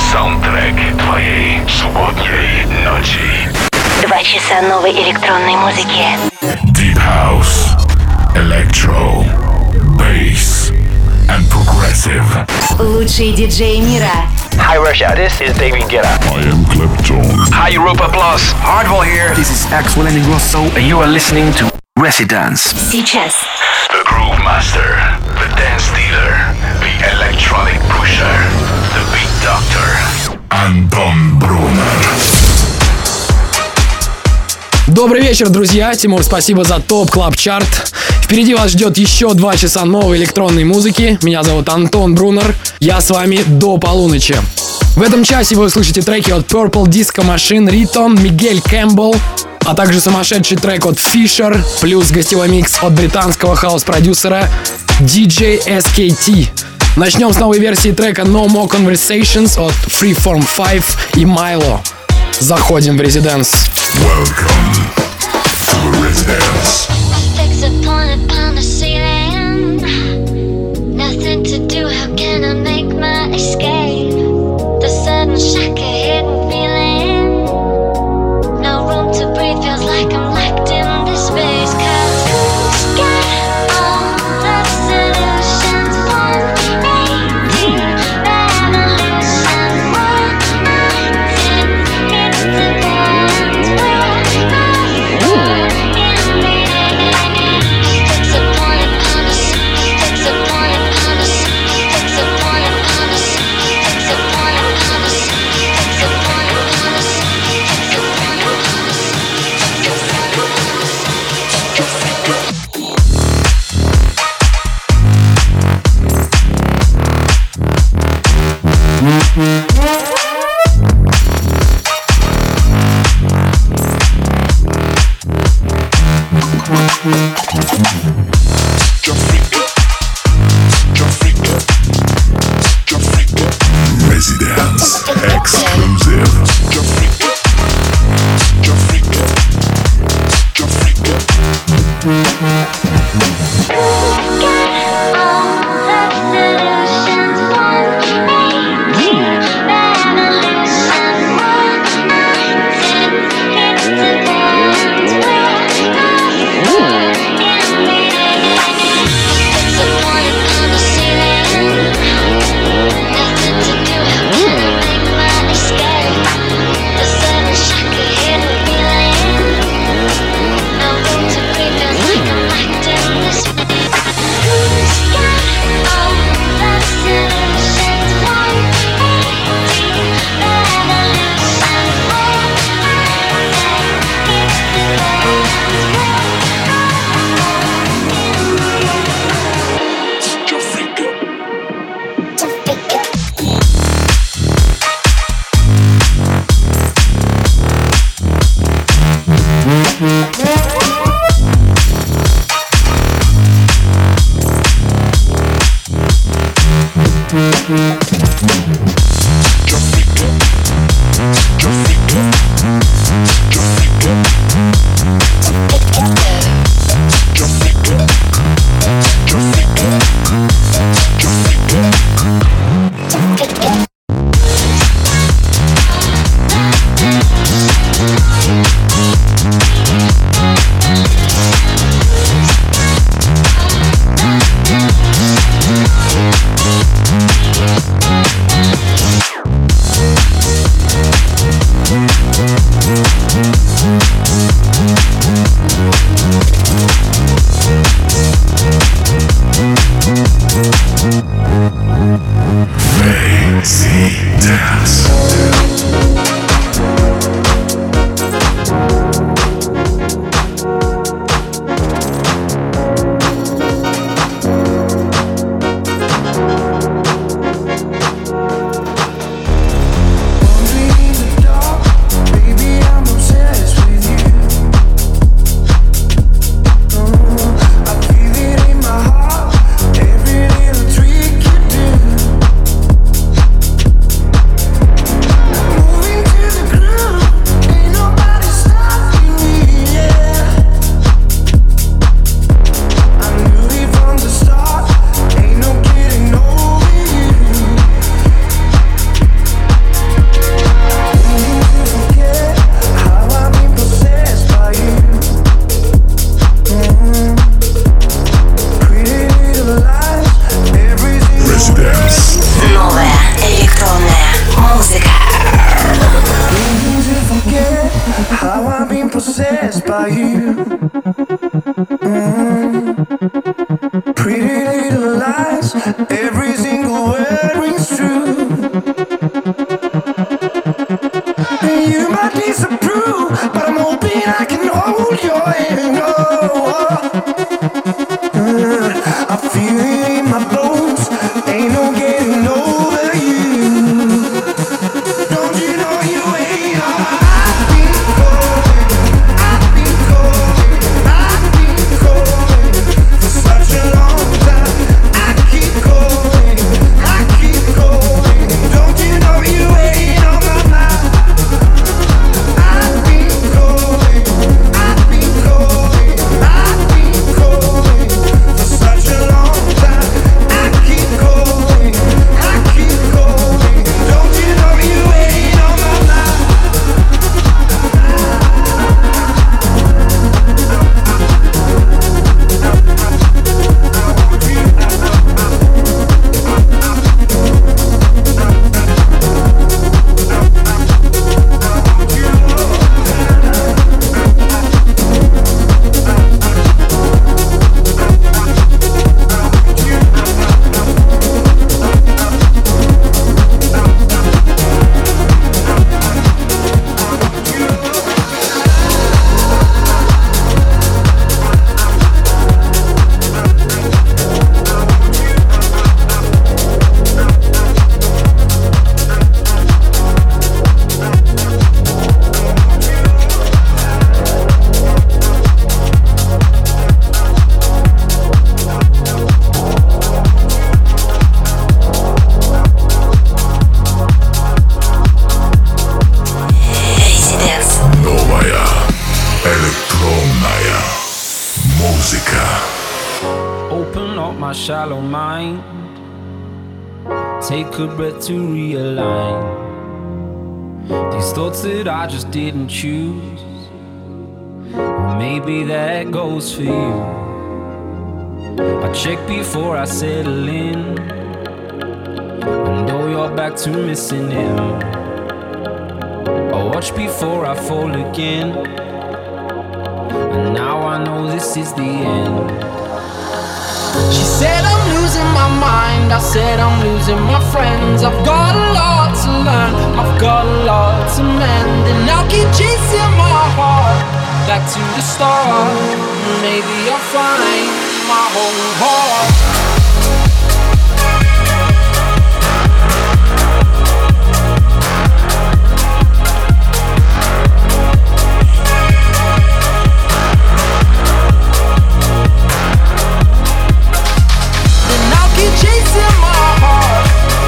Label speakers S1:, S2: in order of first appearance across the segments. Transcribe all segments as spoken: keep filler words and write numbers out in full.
S1: Саундтрек твоей субботней ночи.
S2: Два часа новой электронной музыки.
S1: Deep House, Electro, Bass and Progressive.
S2: Лучшие диджеи мира.
S3: Hi Russia, this is David Guetta.
S1: I am Clapton.
S3: Hi Europa Plus. Hardwell here. This is Axel and Ingrosso, and you are listening to Residence.
S2: Сейчас.
S1: The Groove Master, the Dance Dealer, the Electronic Pusher, the Beat Doctor. Антон Брунер.
S4: Добрый вечер, друзья! Тимур, спасибо за ТОП Клаб Чарт. Впереди вас ждет еще два часа новой электронной музыки. Меня зовут Антон Брунер. Я с вами до полуночи. В этом часе вы услышите треки от Purple Disco Machine, Ритон, Мигель Кэмпбелл, а также сумасшедший трек от Fisher, плюс гостевой микс от британского хаус-продюсера ди джей эс кей ти. Начнем с новой версии трека No More Conversations от Freeform пять и Milo. Заходим в Residence.
S1: Welcome to the Residence.
S5: Fix a point upon the ceiling. Nothing to do, how can I make my escape? The sudden shock, a hidden feeling. No room to breathe, feels like I'm locked in this space. Cause who's got all the solutions? One eighteen revolution. One nineteen, it's the point where fix a point upon us, fix a point upon us, fix a point upon us, fix a point upon us, fix a point upon us, fix a point upon us, fix a point upon us.
S1: Residence exclusive.
S6: Every little trick you do possessed by you. Mm. Pretty little lies, every single word rings true. You might disapprove, but I'm hoping I can hold your hand. Oh, uh, I feel it in my bones, ain't no getting over you. Don't you know you ain't all I've been calling, I've been calling, I've been calling for such a long time. I keep calling, I keep calling. Don't you know you ain't on my mind? I've been calling, I've been calling, I've been calling for such a long time. I keep calling, I keep calling. Don't you know you ain't on my mind?
S1: Новая электронная музыка.
S7: Open up my shallow mind. Take a breath to realign these thoughts that I just didn't choose. Well, maybe that goes for you. I check before I settle in. I know you're back to missing him. I watch before I fall again. And now I know this is the end.
S8: She said I'm losing my mind, I said I'm losing my friends. I've got a lot to learn, I've got a lot to mend. And I'll keep chasing my heart back to the start. Maybe I'll find my whole heart. Chasing my heart.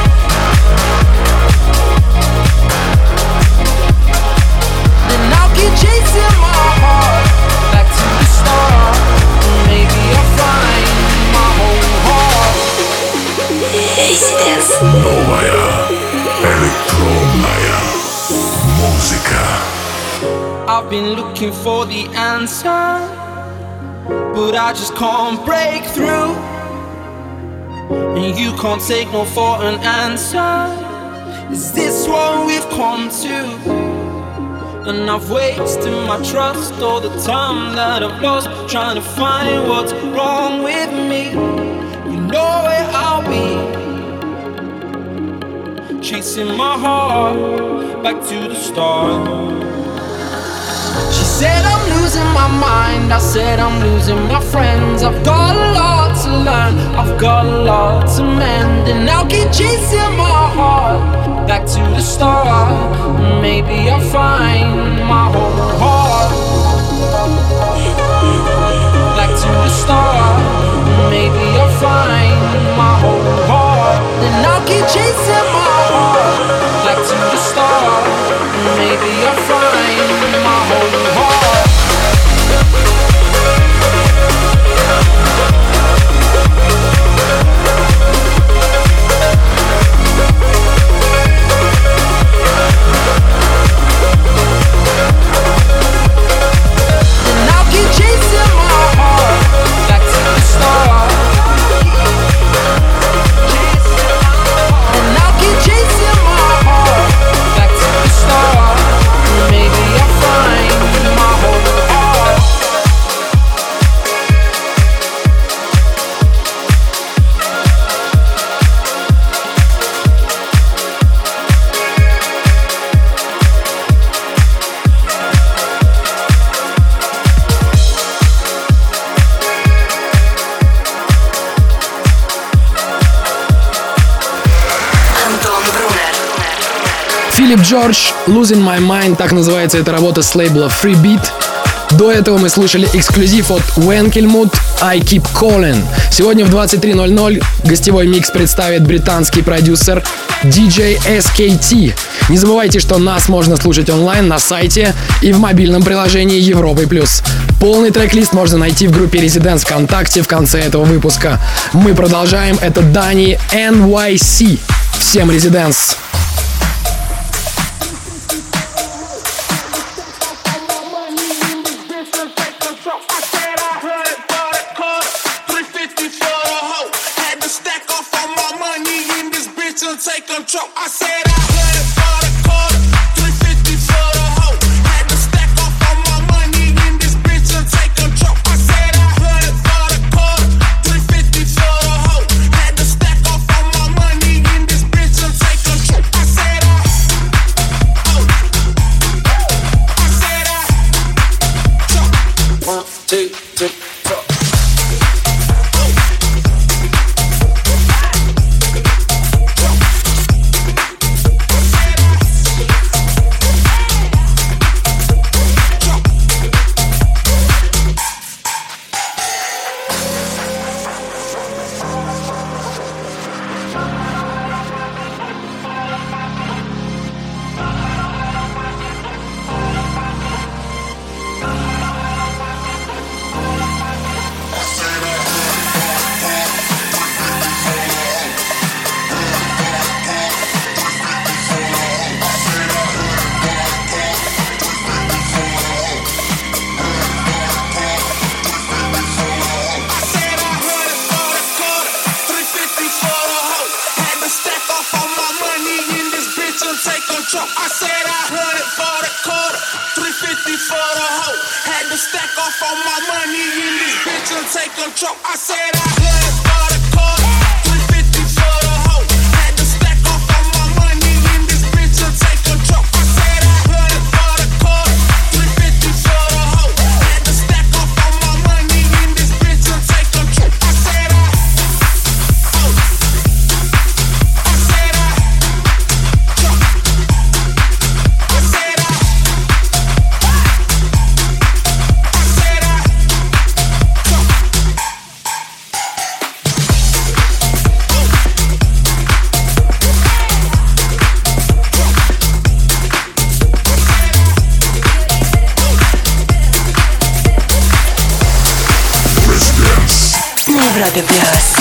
S8: Then I'll keep chasing my heart back to the start. Maybe I'll find my whole heart.
S1: Новая электронная музыка.
S8: I've been looking for the answer, but I just can't break through. And you can't take no for an answer. Is this what we've come to? And I've wasted my trust, all the time that I've lost trying to find what's wrong with me. You know where I'll be, chasing my heart back to the start. She said I'm losing my mind, I said I'm losing my friends. I've got a lot to learn, I've got a lot to mend. And I'll keep chasing my heart back to the start. Maybe I'll find my whole heart back to the start. Maybe I'll find my whole heart. Then I'll keep chasing my heart back to the start. Maybe I'll find my whole heart. Then I'll keep chasing my heart back to the start.
S4: Филипп Джордж, Losing My Mind, так называется эта работа с лейбла Free Beat. До этого мы слушали эксклюзив от Wenkelmut I Keep Calling. Сегодня в двадцать три ноль ноль гостевой микс представит британский продюсер ди джей эс кей ти. Не забывайте, что нас можно слушать онлайн на сайте и в мобильном приложении Европы плюс. Полный трек-лист можно найти в группе Residents ВКонтакте в конце этого выпуска. Мы продолжаем. Это Дани эн уай си. Всем Residents!
S6: Take control. I said I heard it for the quarter, three fifty for the hoe. Had to stack off all my money in this bitch and take control. I said I heard it for the quarter, three fifty for the hoe. Had to stack off all my money in this bitch and take control. I said I, oh, I said I, one, two, three, four. I said I heard it for the quarter, three fifty for the hoe. Had to stack off all my money in this bitch and take control. I said I heard it for the quarter, three fifty for the hoe. Had to stack off all my money in this bitch and take control. I said I heard it for the quarter, three fifty for the hoe. Had to stack off all my money in this bitch and take control. I said I, oh, I said I.
S2: Европе плюс.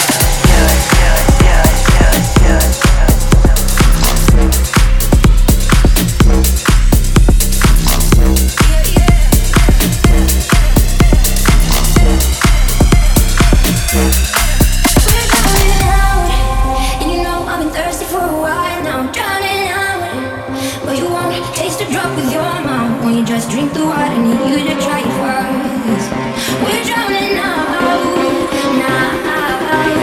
S5: We're drowning out now.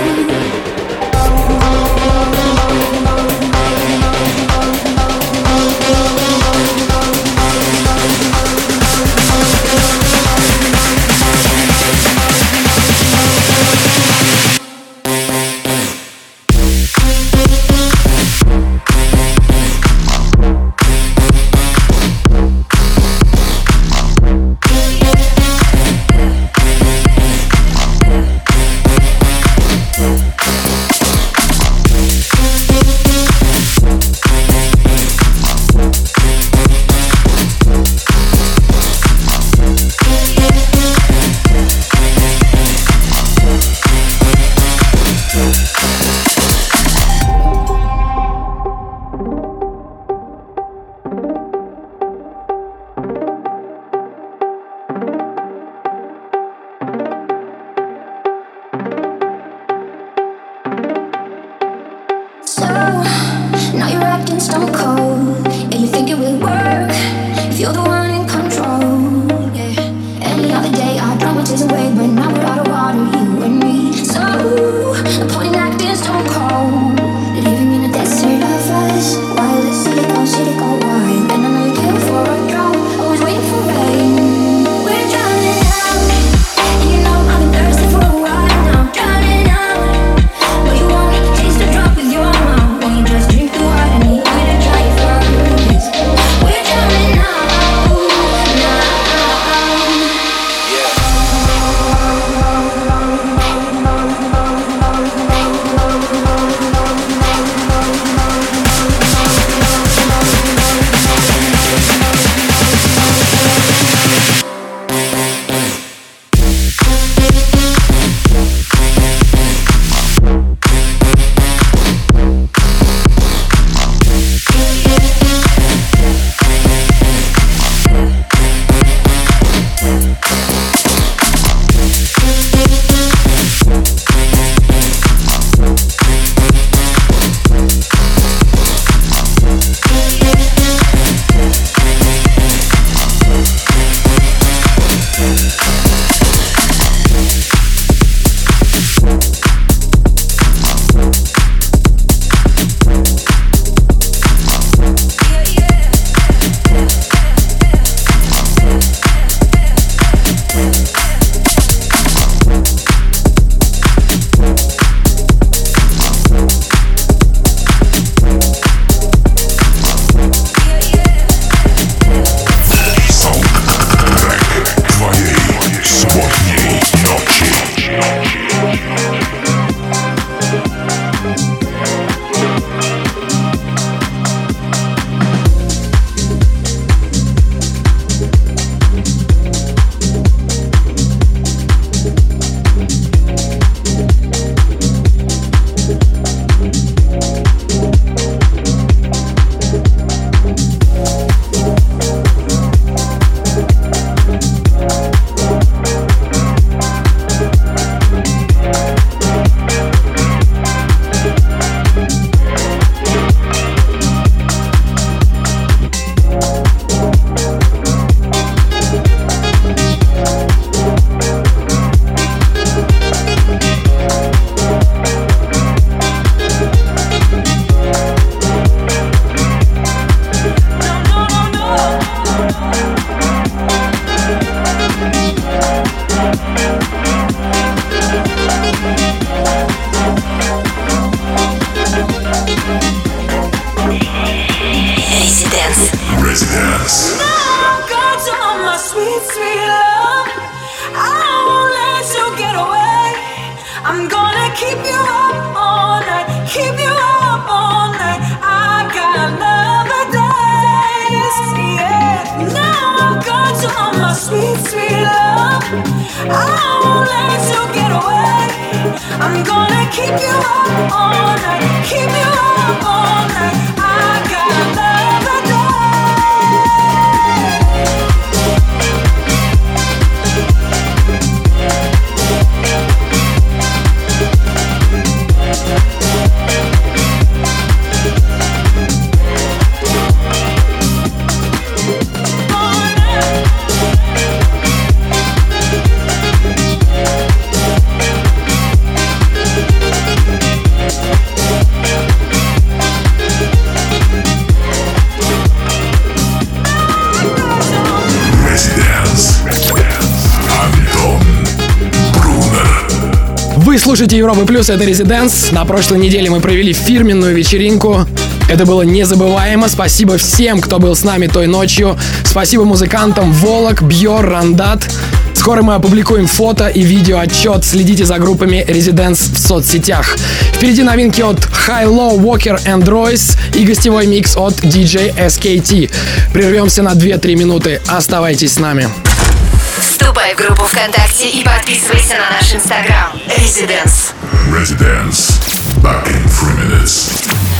S4: Вы слушаете Европа Плюс, это Residence. На прошлой неделе мы провели фирменную вечеринку. Это было незабываемо. Спасибо всем, кто был с нами той ночью. Спасибо музыкантам Волок, Бьор, Рандат. Скоро мы опубликуем фото и видео отчет. Следите за группами Residence в соцсетях. Впереди новинки от High Low, Walker and Royce и гостевой микс от ди джей эс кей ти. Прервемся на две-три минуты. Оставайтесь с нами.
S2: Вступай в группу ВКонтакте и подписывайся на наш инстаграм. Residence.
S1: Residence. Back in three minutes.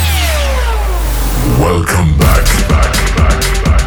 S1: Welcome back, back, back, back.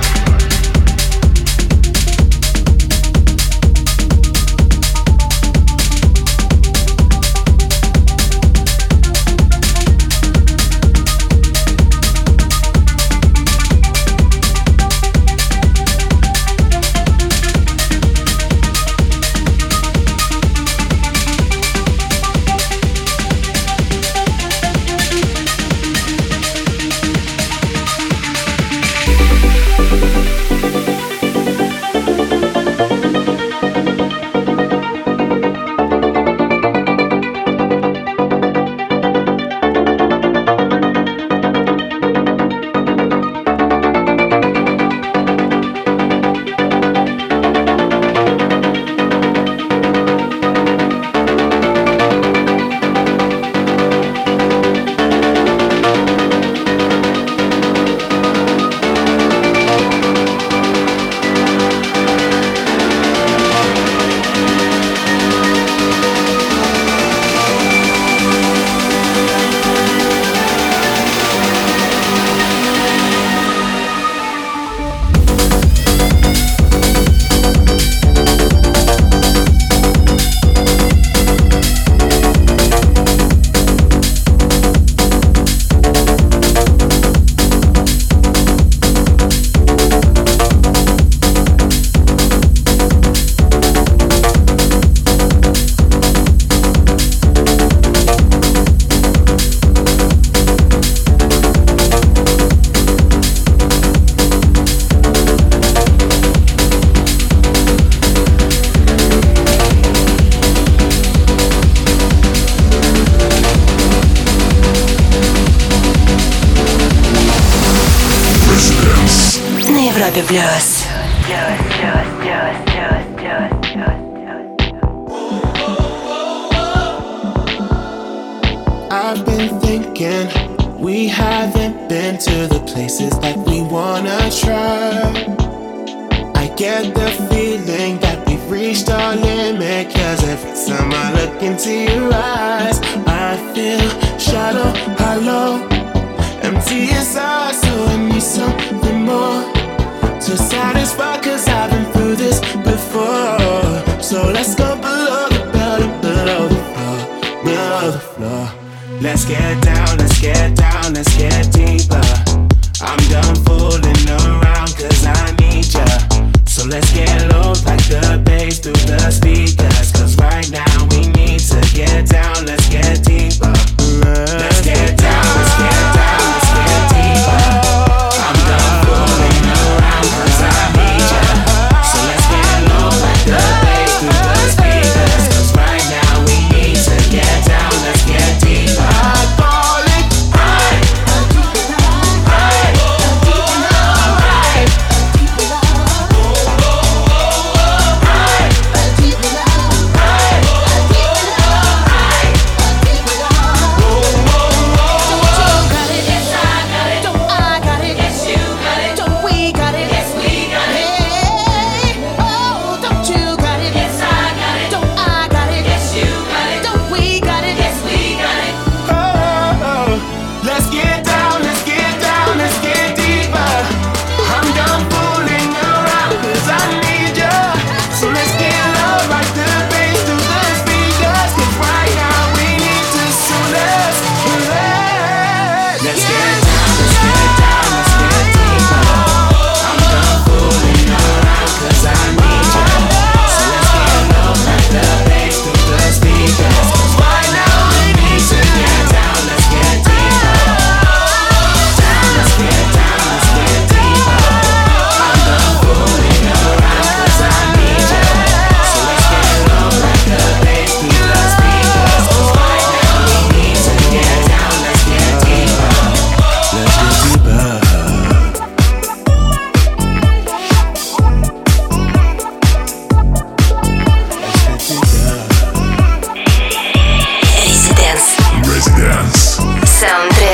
S2: Европе Плюс.
S6: I've been thinking we haven't been to the places that we wanna try. I get the feeling that we've reached our limit, cause every time I look into your eyes I feel shallow, hollow, empty inside. So I need something more to satisfy, cause I've been through this before. So let's go below the bottom, below the floor, below the floor. Let's get down, let's get down, let's get deeper. I'm done fooling around cause I need ya. So let's get low like the bass through the speakers, cause right now we need to get down, let's get deeper. Let's get down, let's get down, let's get deeper. I'm done fooling around cause I need ya. So let's get low like the bass through the speakers, cause right now we need to get down, let's get deeper.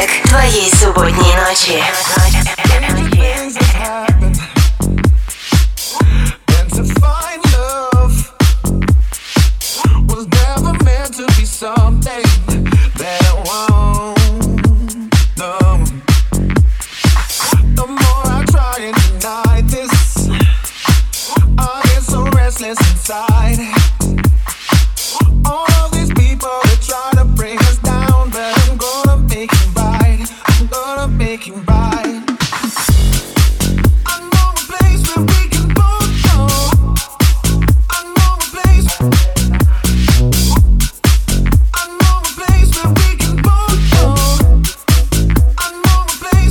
S2: саундтрек твоей субботней ночи.
S6: Inside all of these people that try to bring us down, but I'm gonna make it right. I'm gonna make it right. I know a place where we can both go. I know a place. I know a place where we can both go. I know a place.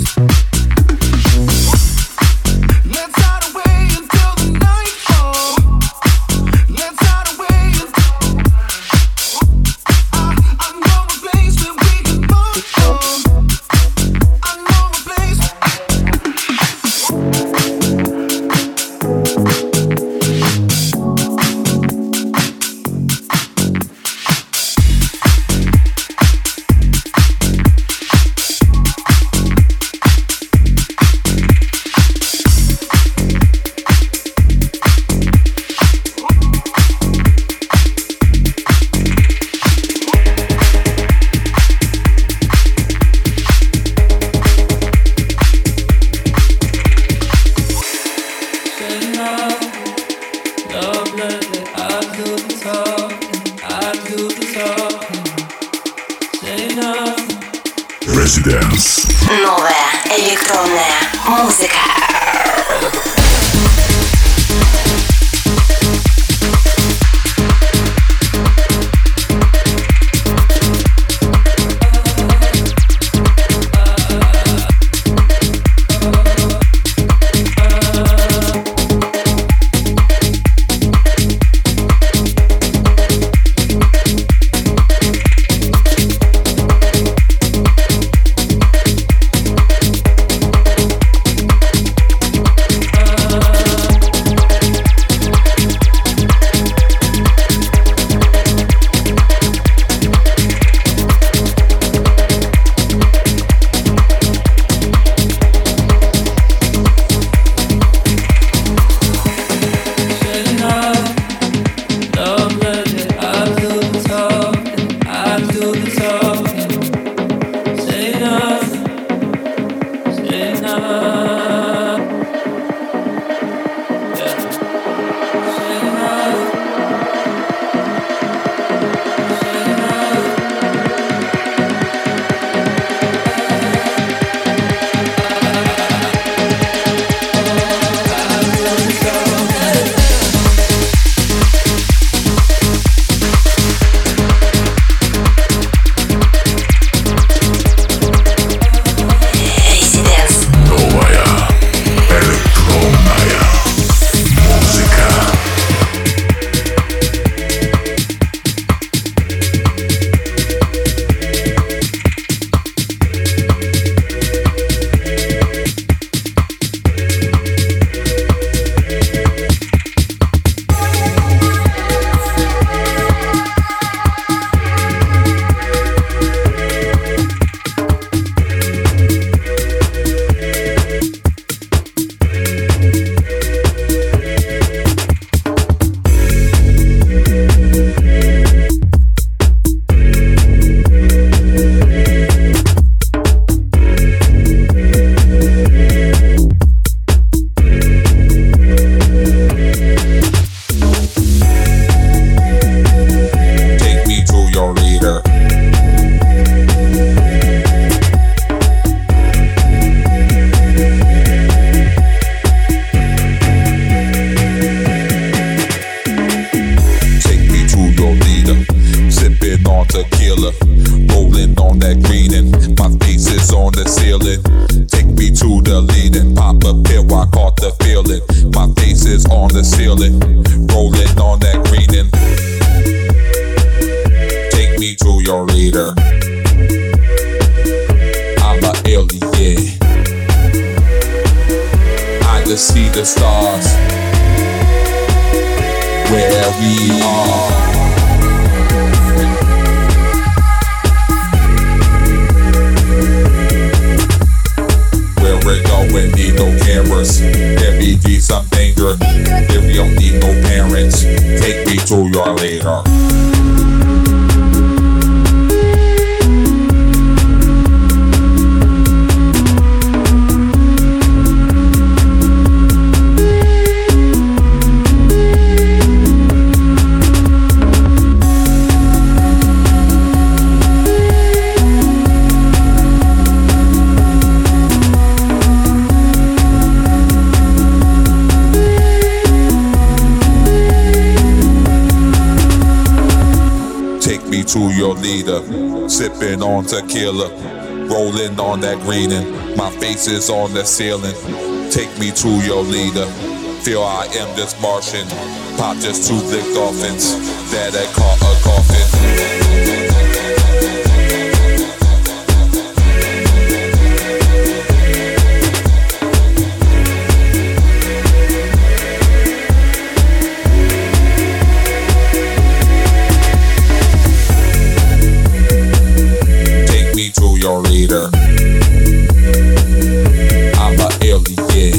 S6: Let's hide away until the night falls. Let's hide away. I, I know a place where we can both go. I know a place.
S1: Residence.
S2: Новая электронная музыка.
S9: See the stars where we are. cameras. There be G some danger. If you don't need no parents, take me to your leader. To your leader, sipping on tequila, rolling on that green, and my face is on the ceiling. Take me to your leader, feel I am this Martian, pop just two lick dolphins that I caught a coffin. Your leader, I'm a alien.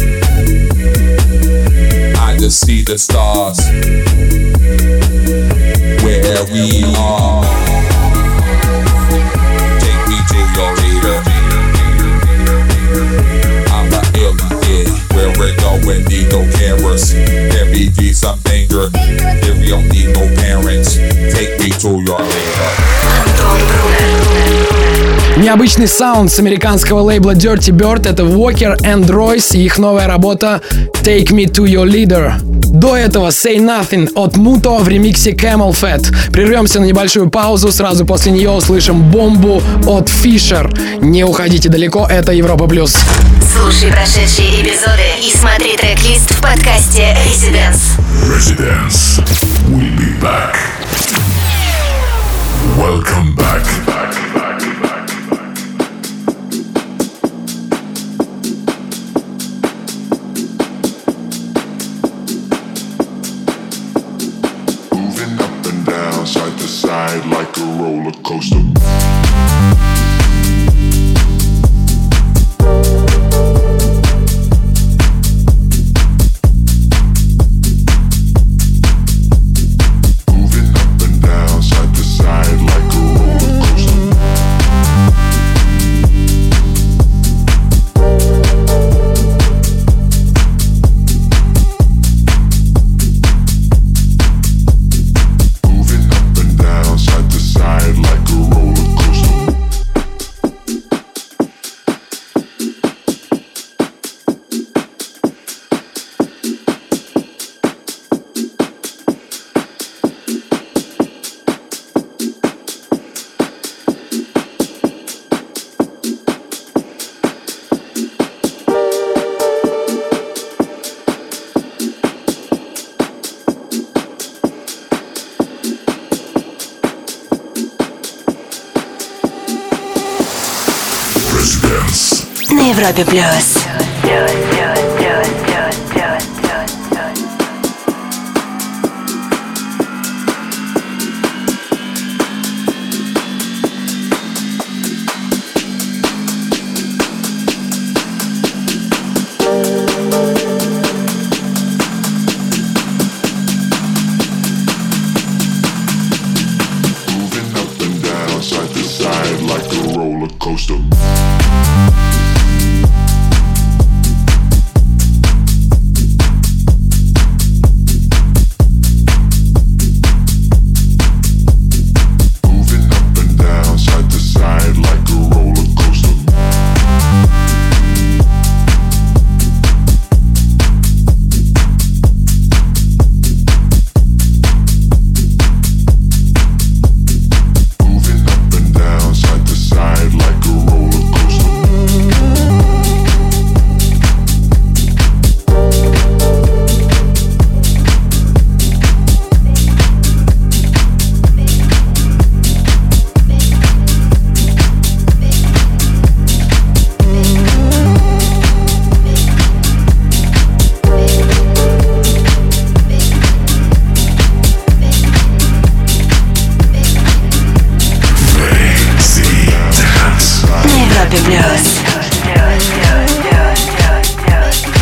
S9: I just see the stars where we are. Take me to your leader. I'm a alien. Where we're going, need no cameras. There be G some danger. If you don't need no parents, take me to your leader.
S2: Антон Брунер.
S4: Необычный саунд с американского лейбла Dirty Bird — это Walker and Royce и их новая работа Take Me To Your Leader. До этого Say Nothing от Muto в ремиксе Camel Fat. Прервемся на небольшую паузу, сразу после нее услышим бомбу от Fisher. Не уходите далеко, это Европа Плюс.
S2: Слушай прошедшие эпизоды и смотри трек-лист в подкасте Residence.
S1: Residence. We'll be back. Welcome back.
S10: Like a roller coaster. Moving up and down, side to side like a roller coaster.
S2: На Европе Плюс.
S10: Coaster.
S2: Европе Плюс.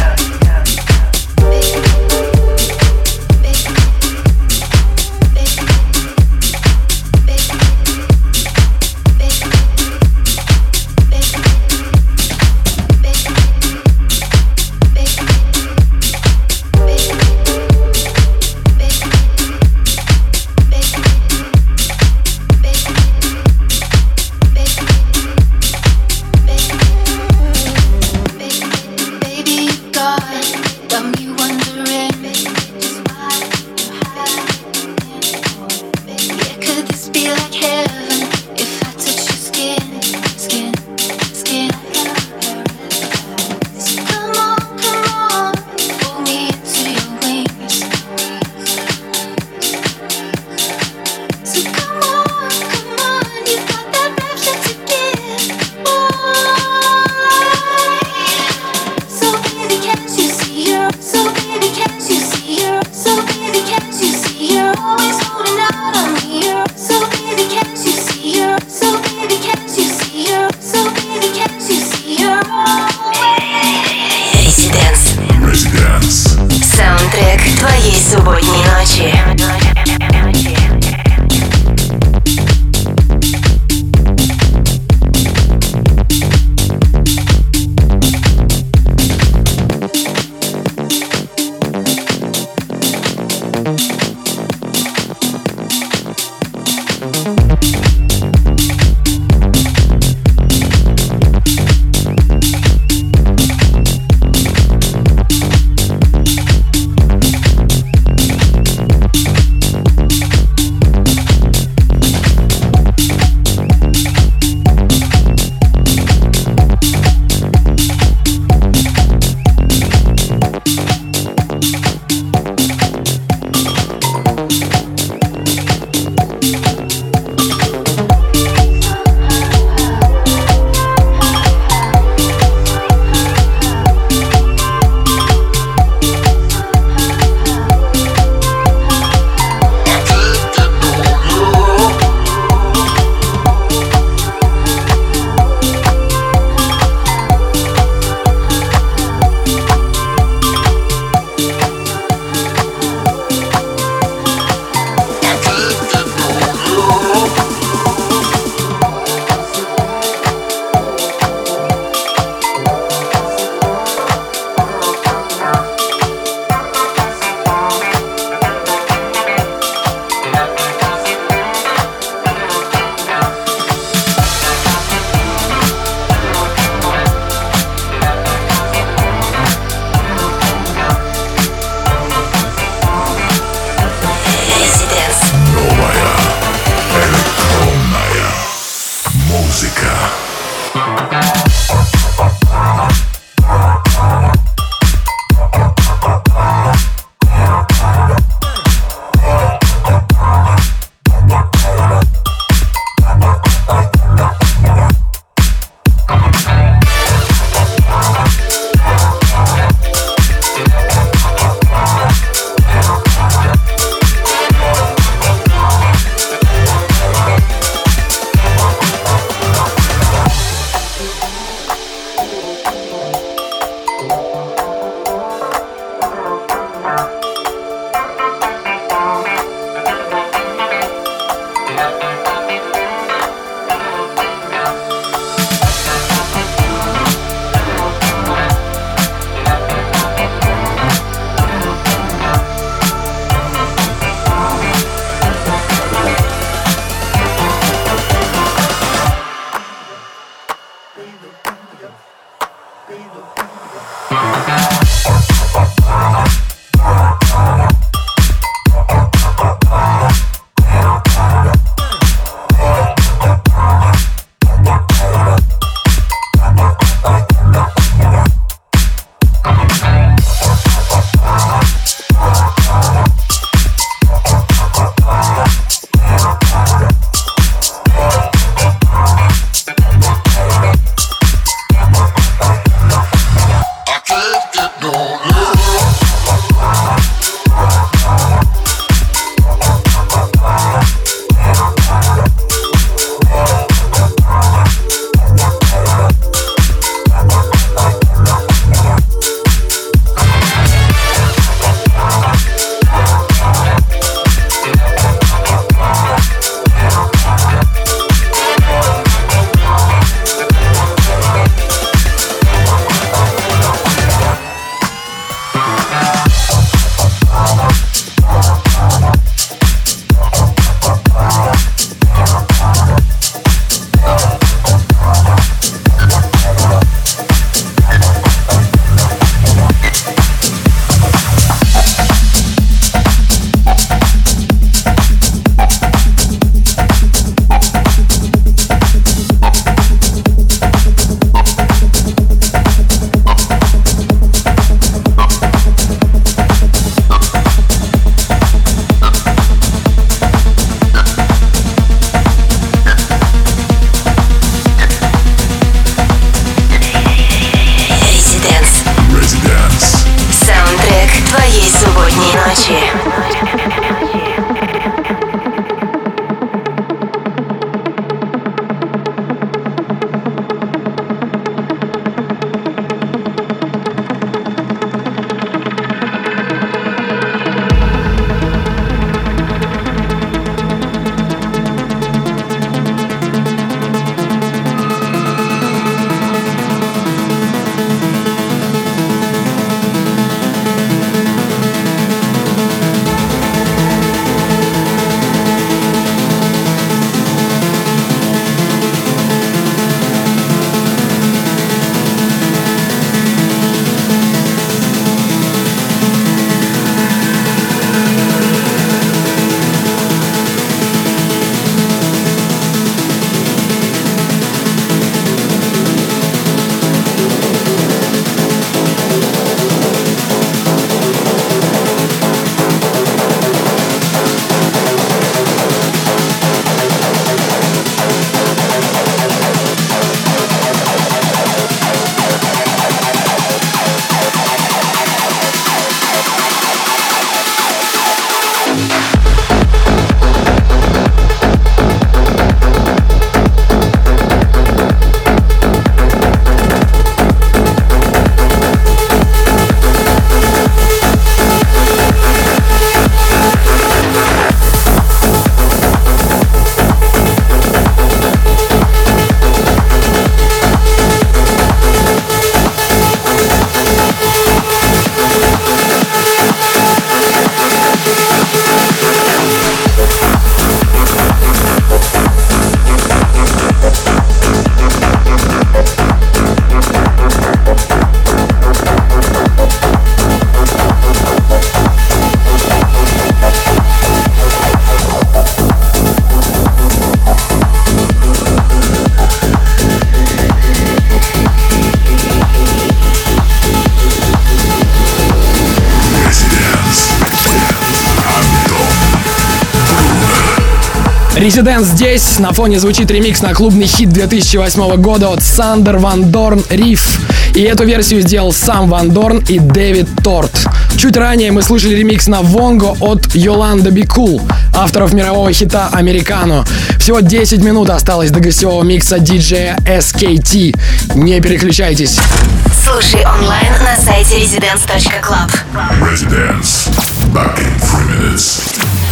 S4: Residence здесь. На фоне звучит ремикс на клубный хит две тысячи восьмого года от Сандер Ван Дорн «Riff». И эту версию сделал сам Ван Дорн и Дэвид Торт. Чуть ранее мы слушали ремикс на Вонго от Yolanda Be Cool, авторов мирового хита «Американо». Всего десять минут осталось до гостевого микса диджея эс кей ти. Не переключайтесь.
S2: Слушай онлайн на сайте residence точка club.
S1: Residence. Back in three minutes.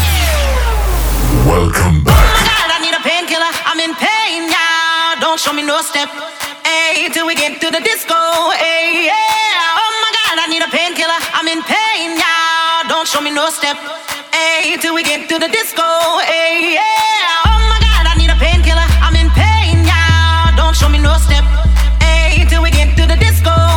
S1: Welcome back.
S11: Oh my God, I need a painkiller. I'm in pain now. Don't show me no step. Hey, till we get to the disco. Hey, yeah. Oh my God, I need a painkiller. I'm in pain now. Don't show me no step. Hey, till we get to the disco. Hey, yeah. Oh my God, I need a painkiller. I'm in pain now. Don't show me no step. Hey, till we get to the disco.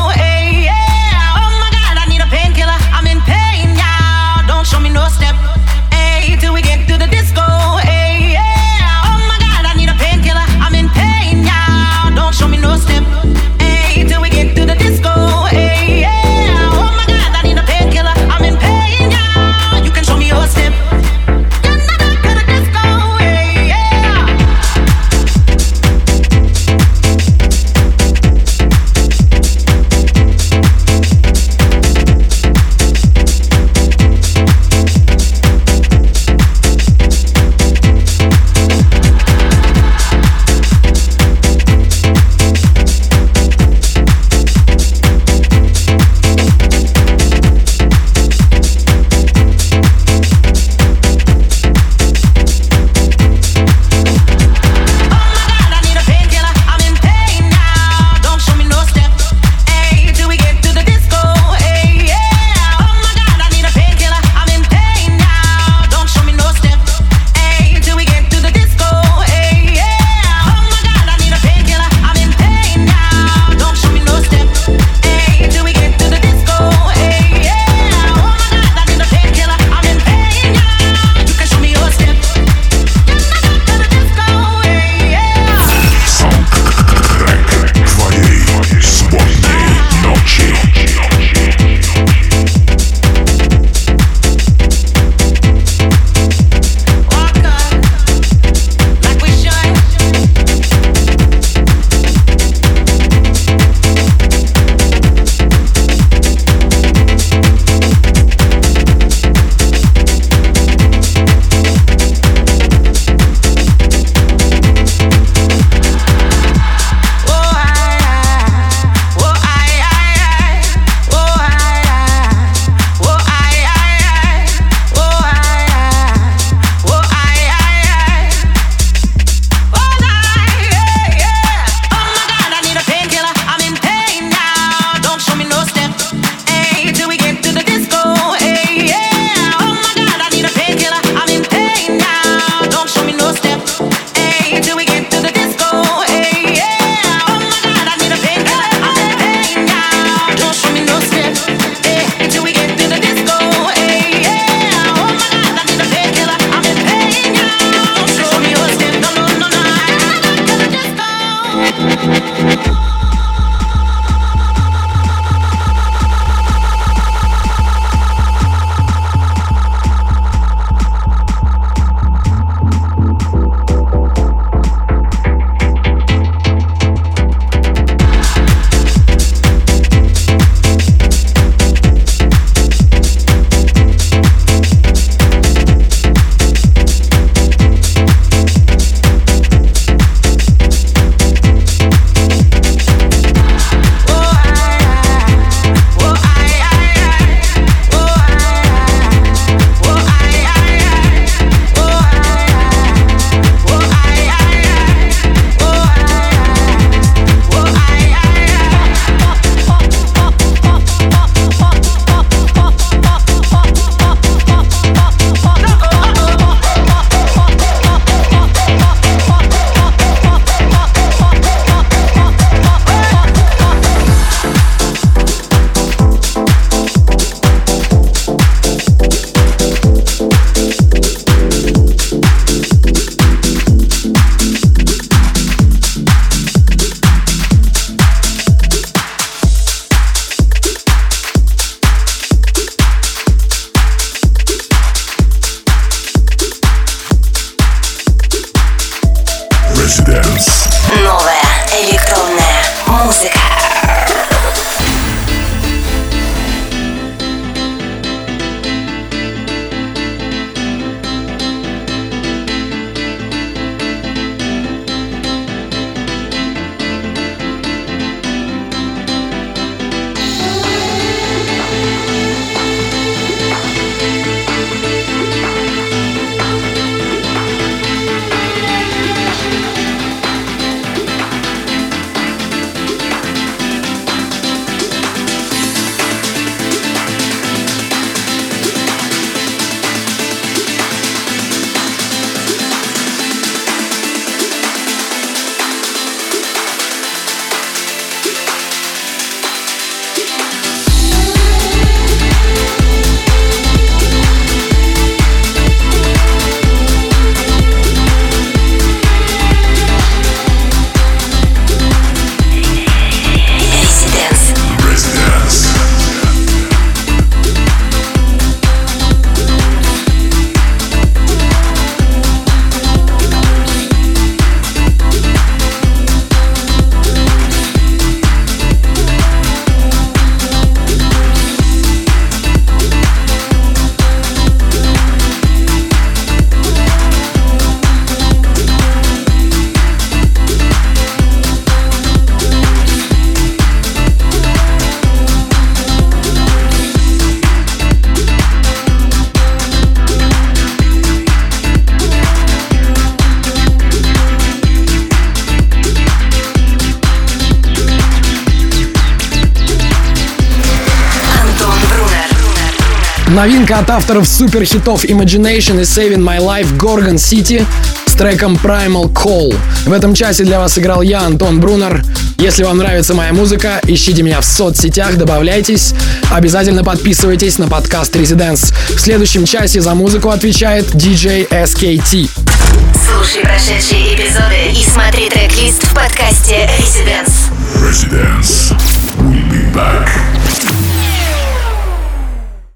S4: Новинка от авторов суперхитов Imagination и Saving My Life Gorgon City с треком Primal Call. В этом часе для вас играл я, Антон Брунер. Если вам нравится моя музыка, ищите меня в соцсетях, добавляйтесь. Обязательно подписывайтесь на подкаст Residence. В следующем часе за музыку отвечает диджей эс кей ти.
S2: Слушай прошедшие эпизоды и смотри трек-лист в подкасте Residence.
S1: Residence. We'll be back.